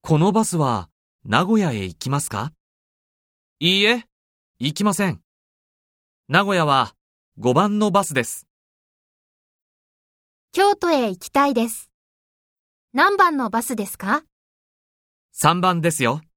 このバスは名古屋へ行きますか？いいえ、行きません。名古屋は5番のバスです。 京都へ行きたいです。何番のバスですか？ 3番ですよ。